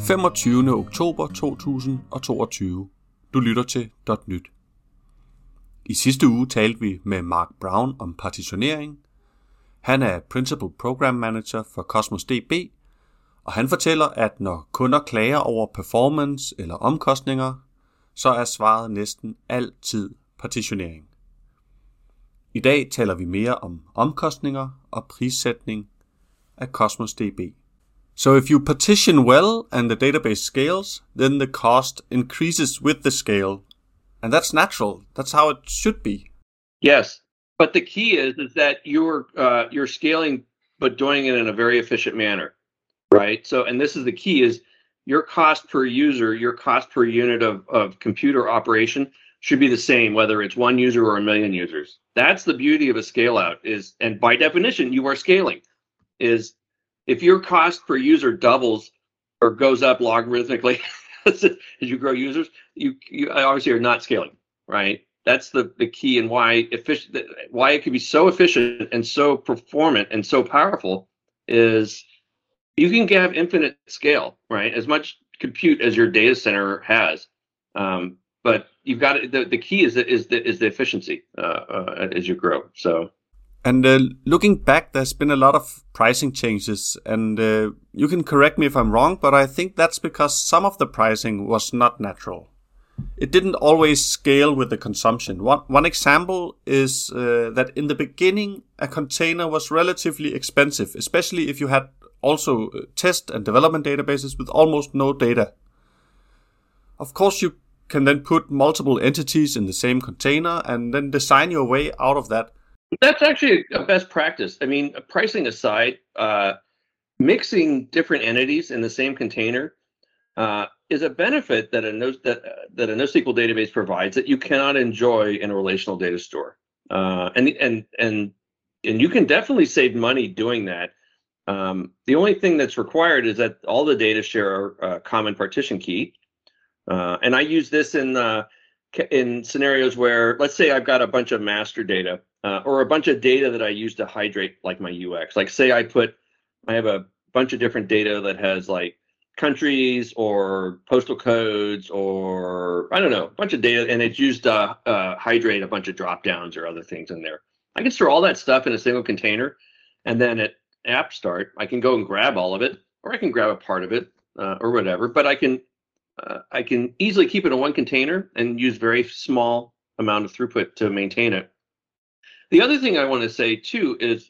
25. oktober 2022. Du lytter til .nyt. I sidste uge talte vi med Mark Brown om partitionering. Han er Principal Program Manager for Cosmos DB, og han fortæller, at når kunder klager over performance eller omkostninger, så er svaret næsten altid partitionering. I dag taler vi mere om omkostninger og prissætning af Cosmos DB. So if you partition well and the database scales, then the cost increases with the scale. And that's natural. That's how it should be. Yes, but the key is that you're scaling, but doing it in a very efficient manner, right? So, and this is the key: is your cost per user, your cost per unit of computer operation should be the same, whether it's one user or a million users. That's the beauty of a scale out. And by definition, you are scaling. If your cost per user doubles or goes up logarithmically as you grow users, you obviously are not scaling, right? That's the key, and why it can be so efficient and so performant and so powerful is you can have infinite scale, right? As much compute as your data center has, but you've got the key is the efficiency as you grow. So. And looking back, there's been a lot of pricing changes, and you can correct me if I'm wrong, but I think that's because some of the pricing was not natural. It didn't always scale with the consumption. One example is that in the beginning, a container was relatively expensive, especially if you had also test and development databases with almost no data. Of course, you can then put multiple entities in the same container and then design your way out of that. That's actually a best practice. I mean, pricing aside, mixing different entities in the same container is a benefit that a NoSQL database provides that you cannot enjoy in a relational data store. And you can definitely save money doing that. The only thing that's required is that all the data share a common partition key. And I use this in scenarios where, let's say I've got a bunch of master data, or a bunch of data that I use to hydrate like my UX. Like say I have a bunch of different data that has like countries or postal codes or I don't know, a bunch of data, and it's used to hydrate a bunch of drop downs or other things in there. I can store all that stuff in a single container, and then at app start, I can go and grab all of it, or I can grab a part of it or whatever, but I can easily keep it in one container and use very small amount of throughput to maintain it. The other thing I want to say too is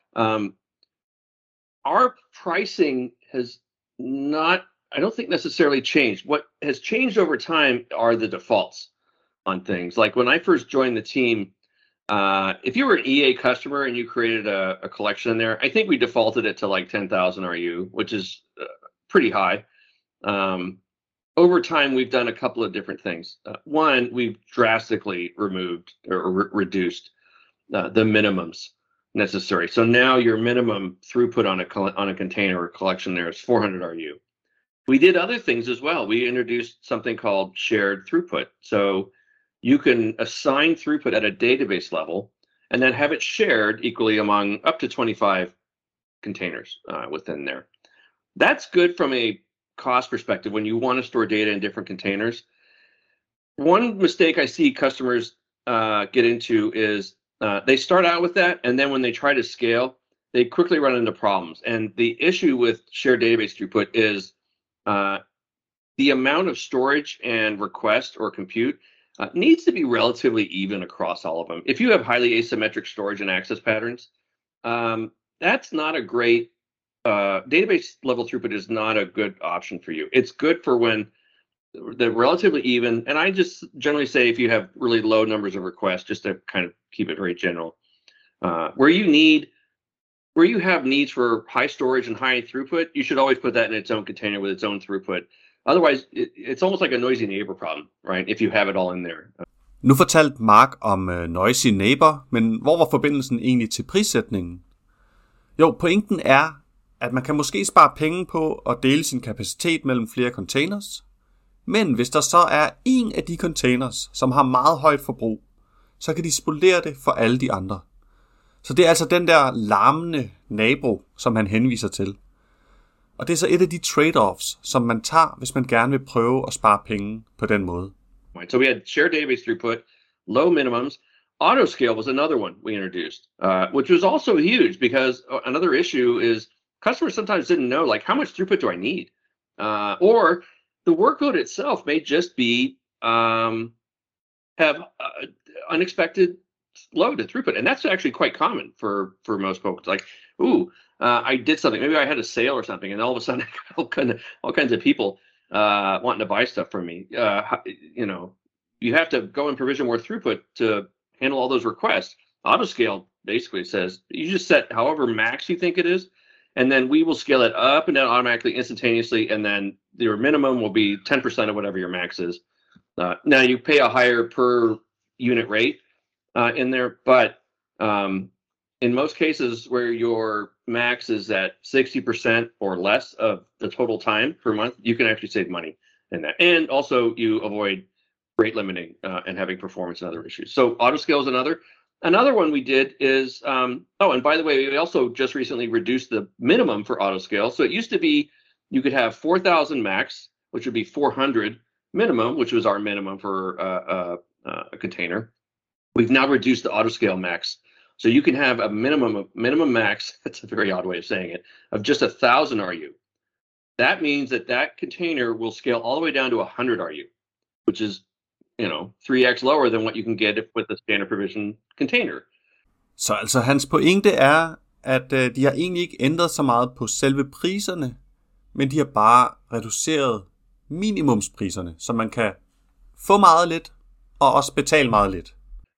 our pricing has not, I don't think necessarily changed. What has changed over time are the defaults on things. Like when I first joined the team, if you were an EA customer and you created a collection in there, I think we defaulted it to like 10,000 RU, which is pretty high. Over time, we've done a couple of different things. One, we've drastically removed or reduced the minimums necessary. So now your minimum throughput on a container or collection there is 400 RU. We did other things as well. We introduced something called shared throughput. So you can assign throughput at a database level and then have it shared equally among up to 25 containers within there. That's good from a cost perspective when you want to store data in different containers. One mistake I see customers get into is they start out with that, and then when they try to scale, they quickly run into problems. And the issue with shared database throughput is the amount of storage and request or compute needs to be relatively even across all of them. If you have highly asymmetric storage and access patterns, that's not a great database level throughput is not a good option for you. It's good for when they're relatively even. And I just generally say if you have really low numbers of requests, just to kind of keep it very general, where you have needs for high storage and high throughput, you should always put that in its own container with its own throughput. Otherwise, it's almost like a noisy neighbor problem, right? If you have it all in there. Nu fortalte Mark om noisy neighbor, men hvor var forbindelsen egentlig til prissætningen? Jo, pointen er, at man kan måske spare penge på at dele sin kapacitet mellem flere containers, men hvis der så er en af de containers, som har meget højt forbrug, så kan de spolere det for alle de andre. Så det er altså den der larmende nabo, som han henviser til. Og det er så et af de trade-offs, som man tager, hvis man gerne vil prøve at spare penge på den måde. Right. So we had shared database throughput, low minimums. Autoscale was another one we introduced, which was also huge because another issue is customers sometimes didn't know, like, how much throughput do I need? Or the workload itself may just be have unexpected load and throughput. And that's actually quite common for most folks. Like, I did something, maybe I had a sale or something, and all of a sudden I got all kinds of people wanting to buy stuff from me. You have to go and provision more throughput to handle all those requests. Autoscale basically says you just set however max you think it is, and then we will scale it up and down automatically, instantaneously, and then your minimum will be 10% of whatever your max is. Now you pay a higher per unit rate in there, but in most cases where your max is at 60% or less of the total time per month, you can actually save money in that. And also you avoid rate limiting and having performance and other issues. So autoscale is another. Another one we did is, and by the way, we also just recently reduced the minimum for autoscale. So it used to be you could have 4,000 max, which would be 400 minimum, which was our minimum for a container. We've now reduced the autoscale max. So you can have a minimum max, that's a very odd way of saying it, of just 1,000 RU. That means that container will scale all the way down to 100 RU, which is 3x lower than what you can get with a standard provision container. Så altså hans pointe er, at de har egentlig ikke ændret så meget på selve priserne, men de har bare reduceret minimumspriserne, så man kan få meget lidt og også betale meget lidt.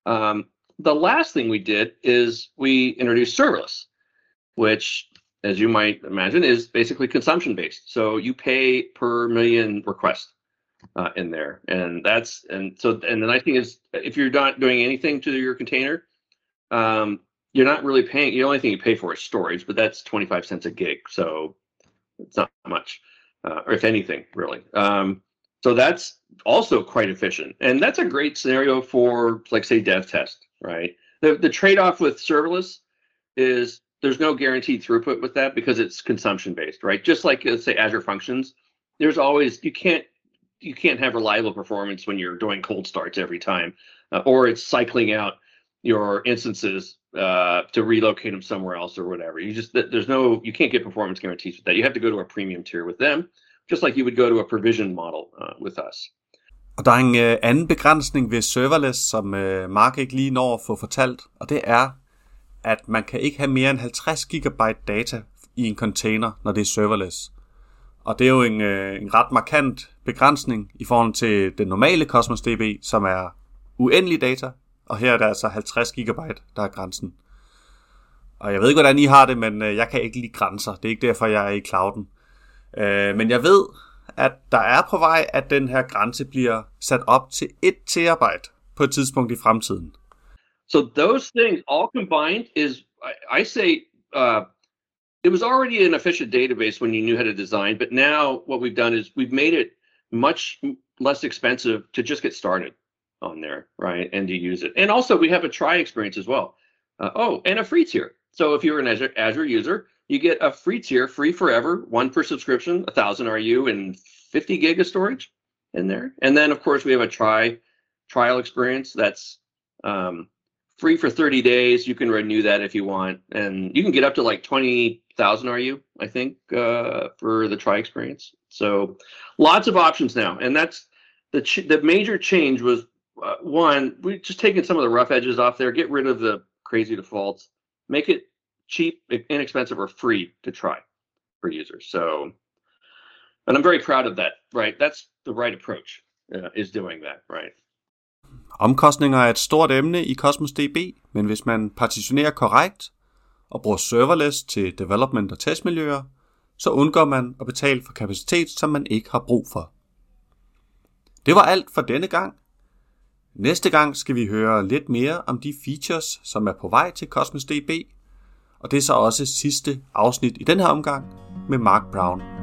The last thing we did is we introduced serverless, which, as you might imagine, is basically consumption-based. So you pay per million requests in there, and the nice thing is, if you're not doing anything to your container, you're not really paying. The only thing you pay for is storage, but that's 25 cents a gig, so it's not much, or if anything, really. So that's also quite efficient, and that's a great scenario for, like, say, dev test, right? The trade-off with serverless is there's no guaranteed throughput with that because it's consumption-based, right? Just like, let's say, Azure Functions, there's always, you can't have reliable performance when you're doing cold starts every time, or it's cycling out your instances to relocate them somewhere else or whatever. You can't get performance guarantees with that. You have to go to a premium tier with them, just like you would go to a provision model with us. Og der er en anden begrænsning ved serverless, som Mark ikke lige når at få fortalt, og det er, at man kan ikke have mere end 50 GB data i en container, når det er serverless. Og det er jo en ret markant begrænsning i forhold til den normale Cosmos DB, som er uendelig data, og her er der altså 50 GB, der er grænsen. Og jeg ved ikke, hvordan I har det, men jeg kan ikke lide grænser. Det er ikke derfor, jeg er i clouden. Men jeg ved, at der er på vej, at den her grænse bliver sat op til 1 terabyte på et tidspunkt i fremtiden. So those things all combined is, I say, it was already an efficient database when you knew how to design, but now what we've done is we've made it much less expensive to just get started on there, right, and to use it. And also we have a try experience as well. And a free tier. So if you're an Azure user, you get a free tier, free forever, one per subscription, 1,000 RU and 50 gig of storage in there. And then, of course, we have a trial experience that's free for 30 days. You can renew that if you want. And you can get up to like 20,000 RU, I think, for the try experience. So lots of options now. And that's the major change was, one, we just taken some of the rough edges off there, get rid of the crazy defaults, make it cheap, inexpensive, or free to try for users. So, and I'm very proud of that, right? That's the right approach, is doing that, right? Omkostninger er et stort emne i Cosmos DB, men hvis man partitionerer korrekt og bruger serverless til development og testmiljøer, så undgår man at betale for kapacitet, som man ikke har brug for. Det var alt for denne gang. Næste gang skal vi høre lidt mere om de features, som er på vej til Cosmos DB, og det er så også sidste afsnit i den her omgang med Mark Brown.